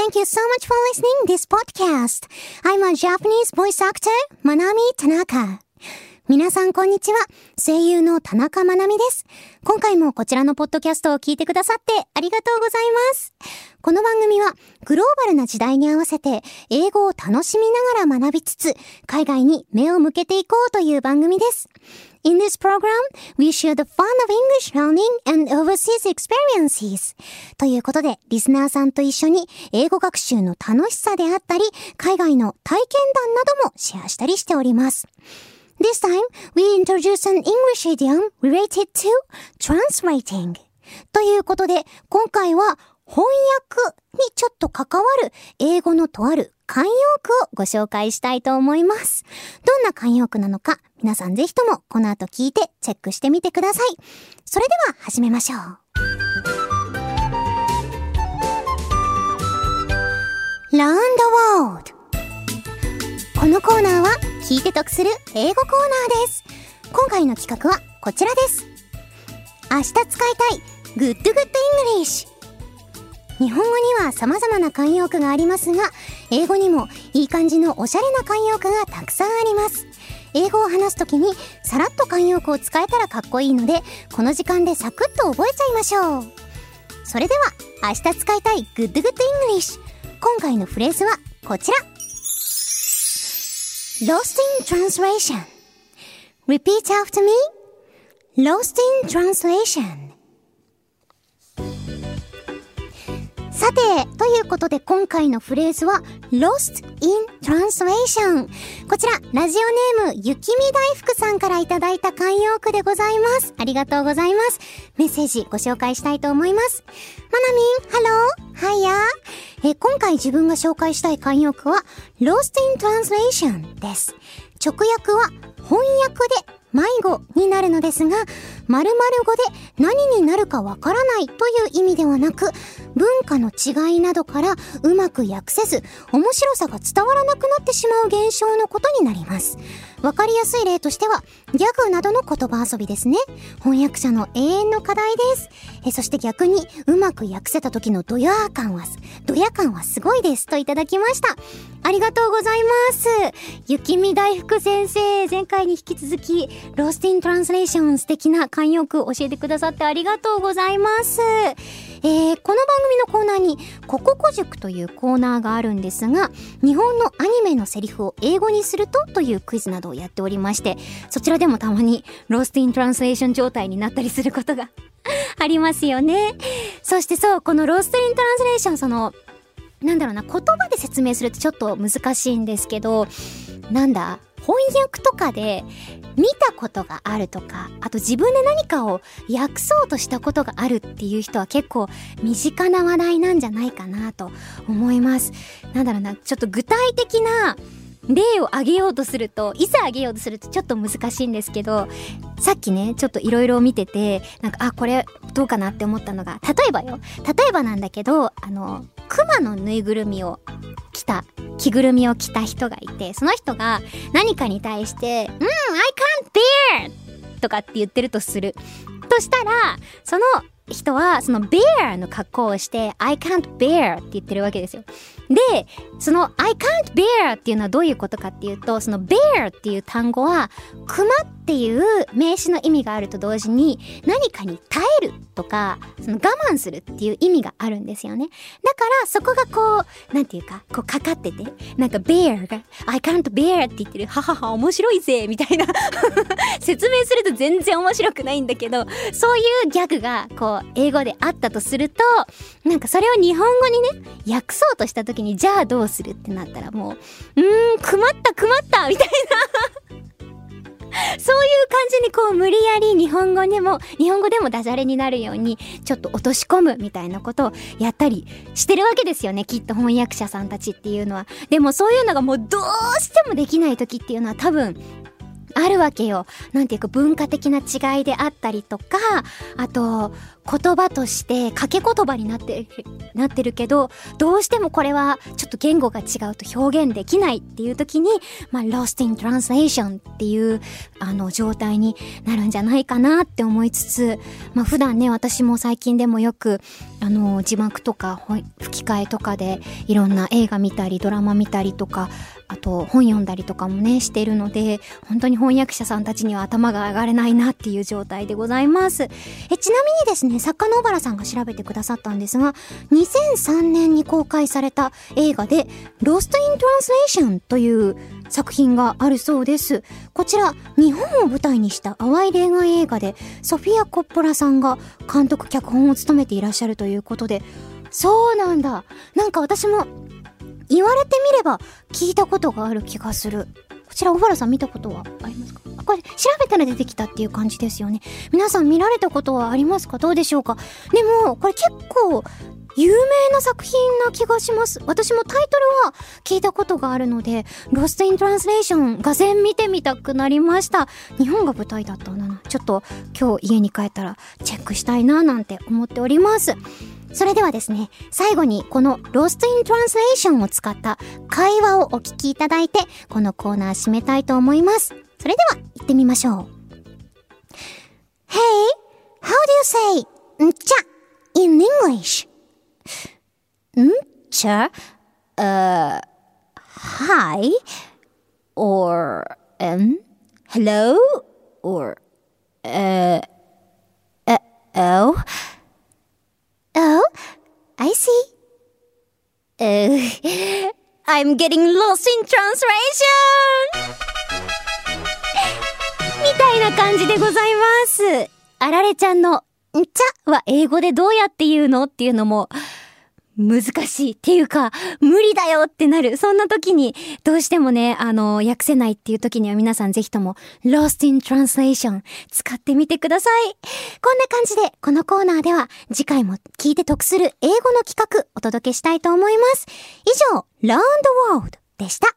Thank you so much for listening this podcast. I'm a Japanese voice actor, Manami Tanaka. 皆さんこんにちは。声優の田中まなみです。今回もこちらのポッドキャストを聞いてくださってありがとうございます。この番組はグローバルな時代に合わせて英語を楽しみながら学びつつ海外に目を向けていこうという番組です。In this program, we share the fun of English learning and overseas experiences. ということで、リスナーさんと一緒に英語学習の楽しさであったり、海外の体験談などもシェアしたりしております。This time, we introduce an English idiom related to translating. ということで、今回は翻訳にちょっと関わる英語のとある慣用句をご紹介したいと思います。どんな慣用句なのか、皆さんぜひともこの後聞いてチェックしてみてください。それでは始めましょう。Learn the World。このコーナーは聞いて得する英語コーナーです。今回の企画はこちらです。明日使いたい Good English。日本語には様々な慣用句がありますが、英語にもいい感じのおしゃれな慣用句がたくさんあります。英語を話すときにさらっと慣用句を使えたらかっこいいので、この時間でサクッと覚えちゃいましょう。それでは明日使いたい Good English。今回のフレーズはこちら。Lost in translation. Repeat after me. Lost in translation. さて、ということで今回のフレーズは Lost in translation。こちら、ラジオネームゆきみ大福さんからいただいた慣用句でございます。ありがとうございます。メッセージご紹介したいと思います。まなみん、ハロー、はや。今回自分が紹介したい慣用句は Lost in translation です。直訳は翻訳で迷子になるのですが、〇〇語で何になるかわからないという意味ではなく、文化の違いなどからうまく訳せず、面白さが伝わらなくなってしまう現象のことになります。わかりやすい例としては、ギャグなどの言葉遊びですね。翻訳者の永遠の課題です。そして逆にうまく訳せた時のドヤ感はすごいですといただきました。ありがとうございます。ゆきみ大福先生、前回に引き続きLost in Translation 素敵な慣用句教えてくださってありがとうございます。この番組のコーナーにコココ塾というコーナーがあるんですが、日本のアニメのセリフを英語にするというクイズなどをやっておりまして、そちらでもたまにLost in Translation 状態になったりすることがありますよね。そしてそう、このLost in Translation、言葉で説明するとちょっと難しいんですけど、翻訳とかで見たことがあるとか、あと自分で何かを訳そうとしたことがあるっていう人は結構身近な話題なんじゃないかなと思います。ちょっと具体的な例を挙げようとするとちょっと難しいんですけど、さっきね、ちょっといろいろ見てて、これどうかなって思ったのが、例えばなんだけど、熊のぬいぐるみを着ぐるみを着た人がいて、その人が何かに対して、I can't bear! とかって言ってるとする。としたら、その人はその bear の格好をして I can't bear って言ってるわけですよ。で、その I can't bear っていうのはどういうことかっていうと、その bear っていう単語は熊っていう名詞の意味があると同時に、何かに耐えるとか、その我慢するっていう意味があるんですよね。だからそこがかかってて、bear が I can't bear って言ってる、ははは面白いぜみたいな説明すると全然面白くないんだけど、そういうギャグが英語であったとすると、それを日本語にね訳そうとした時に、じゃあどうするってなったら、もう困ったみたいなそういう感じに無理やり日本語でもダジャレになるようにちょっと落とし込むみたいなことをやったりしてるわけですよね、きっと翻訳者さんたちっていうのは。でもそういうのがもうどうしてもできない時っていうのは、多分あるわけよ。なんていうか文化的な違いであったりとか、あと言葉として掛け言葉になってるけど、どうしてもこれはちょっと言語が違うと表現できないっていう時に、lost in translation っていう状態になるんじゃないかなって思いつつ、普段ね、私も最近でもよく字幕とか吹き替えとかでいろんな映画見たりドラマ見たりとか、あと本読んだりとかもねしているので、本当に翻訳者さんたちには頭が上がれないなっていう状態でございます。ちなみにですね、作家の小原さんが調べてくださったんですが、2003年に公開された映画で Lost in Translation という作品があるそうです。こちら日本を舞台にした淡い恋愛映画で、ソフィア・コッポラさんが監督脚本を務めていらっしゃるということで、そうなんだ。なんか私も言われてみれば聞いたことがある気がする。こちら小原さん見たことはありますか？これ調べたら出てきたっていう感じですよね。皆さん見られたことはありますか？どうでしょうか？でもこれ結構有名な作品な気がします。私もタイトルは聞いたことがあるので、Lost in Translation がぜん見てみたくなりました。日本が舞台だったんだな。ちょっと今日家に帰ったらチェックしたいななんて思っております。それではですね、最後にこの Lost in Translation を使った会話をお聞きいただいて、このコーナー締めたいと思います。それでは行ってみましょう。Hey, how do you say んちゃ in English? んちゃhi or hello or Oh, I see. I'm getting lost in translation! みたいな感じでございます。あられちゃんのんちゃは英語でどうやって言うのっていうのも難しいっていうか無理だよってなる。そんな時にどうしてもね、訳せないっていう時には皆さんぜひとも Lost in Translation 使ってみてください。こんな感じでこのコーナーでは次回も聞いて得する英語の企画お届けしたいと思います。以上 Learn the World でした。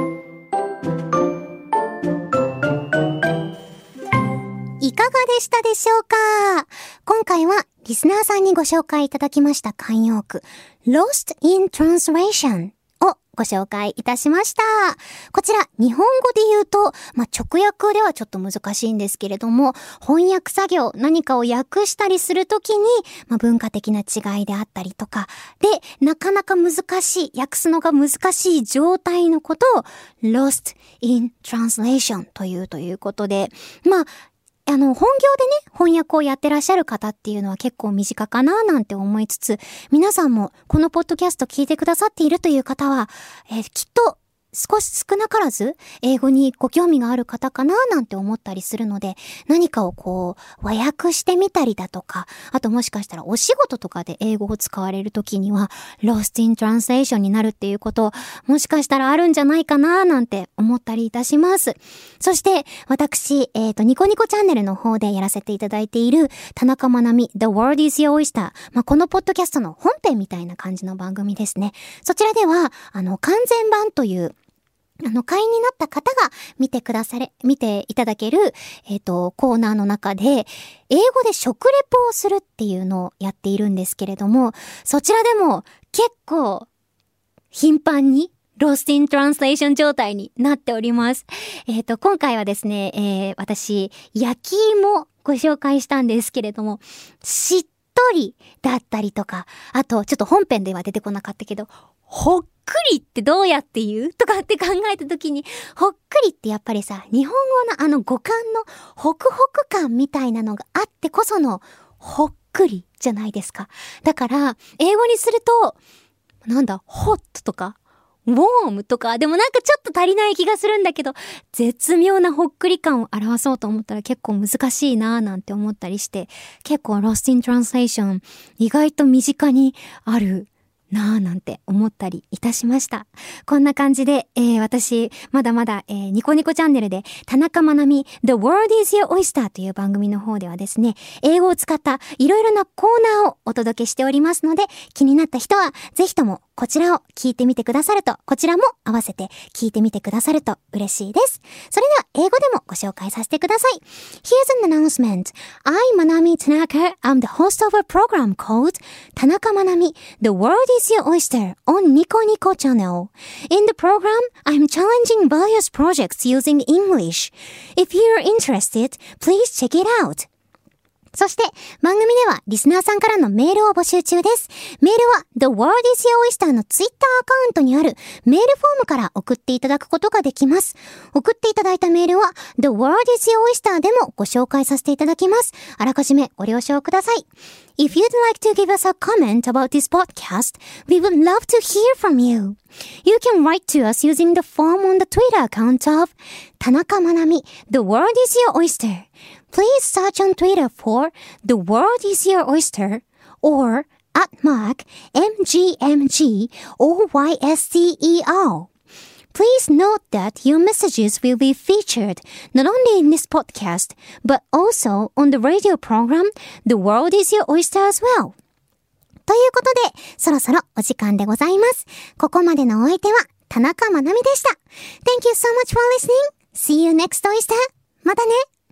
いかがでしたでしょうか？今回はリスナーさんにご紹介いただきました慣用句 Lost in Translation をご紹介いたしました。こちら日本語で言うと、直訳ではちょっと難しいんですけれども、翻訳作業、何かを訳したりするときに、文化的な違いであったりとかで、なかなか難しい、訳すのが難しい状態のことを Lost in Translation ということで、本業でね、翻訳をやってらっしゃる方っていうのは結構身近かななんて思いつつ、皆さんもこのポッドキャスト聞いてくださっているという方は、きっと少なからず英語にご興味がある方かななんて思ったりするので、何かを和訳してみたりだとか、あともしかしたらお仕事とかで英語を使われるときには Lost in Translation になるっていうこと、もしかしたらあるんじゃないかななんて思ったりいたします。そして私、ニコニコチャンネルの方でやらせていただいている田中まなみ The World is Your Oyster、このポッドキャストの本編みたいな感じの番組ですね。そちらでは完全版という会員になった方が見ていただける、コーナーの中で、英語で食レポをするっていうのをやっているんですけれども、そちらでも結構頻繁にLost in Translation 状態になっております。今回はですね、私、焼き芋ご紹介したんですけれども、しっとりだったりとか、あとちょっと本編では出てこなかったけど、ほっくりってどうやって言うとかって考えたときに、ほっくりってやっぱりさ、日本語の語感のホクホク感みたいなのがあってこそのほっくりじゃないですか。だから英語にするとホットとかウォームとか、でもちょっと足りない気がするんだけど、絶妙なほっくり感を表そうと思ったら結構難しいなぁなんて思ったりして、結構 Lost in Translation 意外と身近にあるなぁなんて思ったりいたしました。こんな感じで、私まだまだ、ニコニコチャンネルで田中まなみ The World is Your Oyster という番組の方ではですね、英語を使ったいろいろなコーナーをお届けしておりますので、気になった人はぜひともこちらを聞いてみてくださると、こちらも合わせて聞いてみてくださると嬉しいです。それでは英語でもご紹介させてください。Here's an announcement. I'm Manami Tanaka. I'm the host of a program called Tanaka Manami, The World is Your Oyster on Nico Nico channel. In the program, I'm challenging various projects using English. If you're interested, please check it out. そして、番組ではリスナーさんからのメールを募集中です。メールは The World is Your Oyster のツイッターアカウントにあるメールフォームから送っていただくことができます。送っていただいたメールは The World is Your Oyster でもご紹介させていただきます。あらかじめご了承ください。If you'd like to give us a comment about this podcast, we would love to hear from you. You can write to us using the form on the Twitter account of Tanaka Manami, The World is Your Oyster.Please search on Twitter for The World is Your Oyster or @MGMGOYSTER. Please note that your messages will be featured not only in this podcast, but also on the radio program The World is Your Oyster as well. ということで、そろそろお時間でございます。ここまでのお相手は田中まなみでした。Thank you so much for listening. See you next oyster. またね。